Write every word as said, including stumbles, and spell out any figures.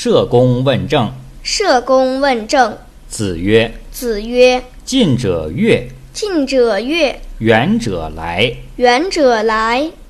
社公问政。 社公问政。 子曰： 子曰： 近者悦， 近者悦， 远者来。 远者来。